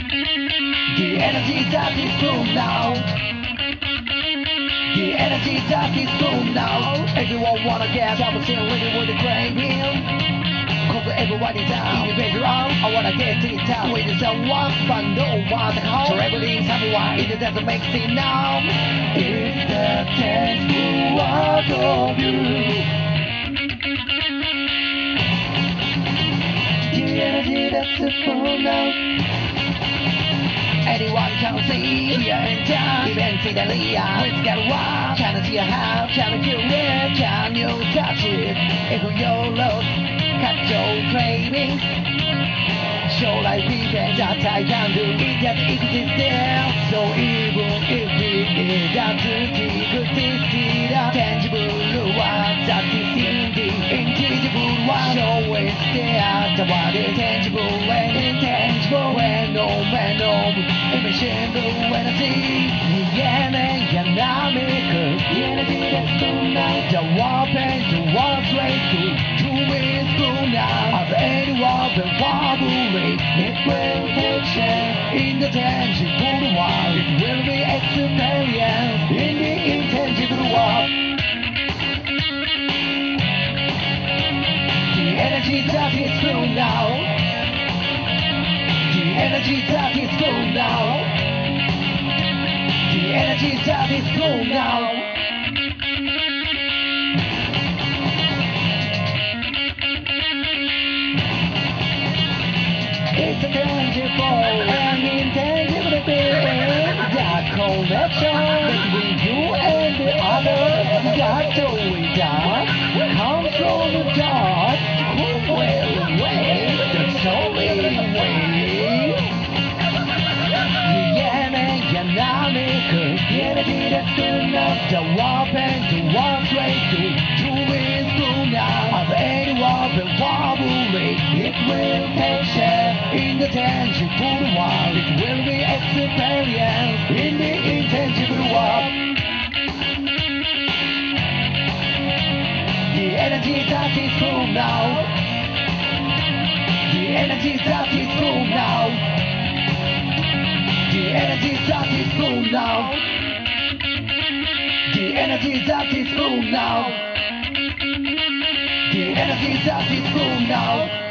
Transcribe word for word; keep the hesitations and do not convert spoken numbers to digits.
The energy that is full now. The energy that is full now. Everyone wanna get something really with the craving. Cause everybody down, in the bedroom, I wanna get it down with someone, but no one at home. Traveling somewhere, it doesn't make sense now. It's the tangible world of you. The energy that's full now. Anyone can see, here and there, eventually it's got one. Can you have, can you feel it, can you touch it? If you're lost, catch your craving. Show like revenge that I can do it, just exist there. So even if it doesn't exist, the tangible one that is in the intangible one. Show it's there, the one is tangible and intangible. When no man knows. Imagine the energy, the energy dynamic, the energy that's full now. The weapon, the war straight to to is full now. As any weapon wobbling, it will take shape in the tangible world. It will be experience in the intangible world. The energy that is full now. The energy that is full now. The energy that is full now. It's a tangible and intangible thing. That connection between you and the other. That's all we got. Comes from the dark. Who will wait? That's all we wait. The energy that's full now. The weapon, the war straight to to is full now. As any weapon wobbling, it will take shape in the tangible world. It will be experience in the intangible world. The energy that is full now. The energy that is full now. The energy that is full now. The energy that is full now. The energy that is full now.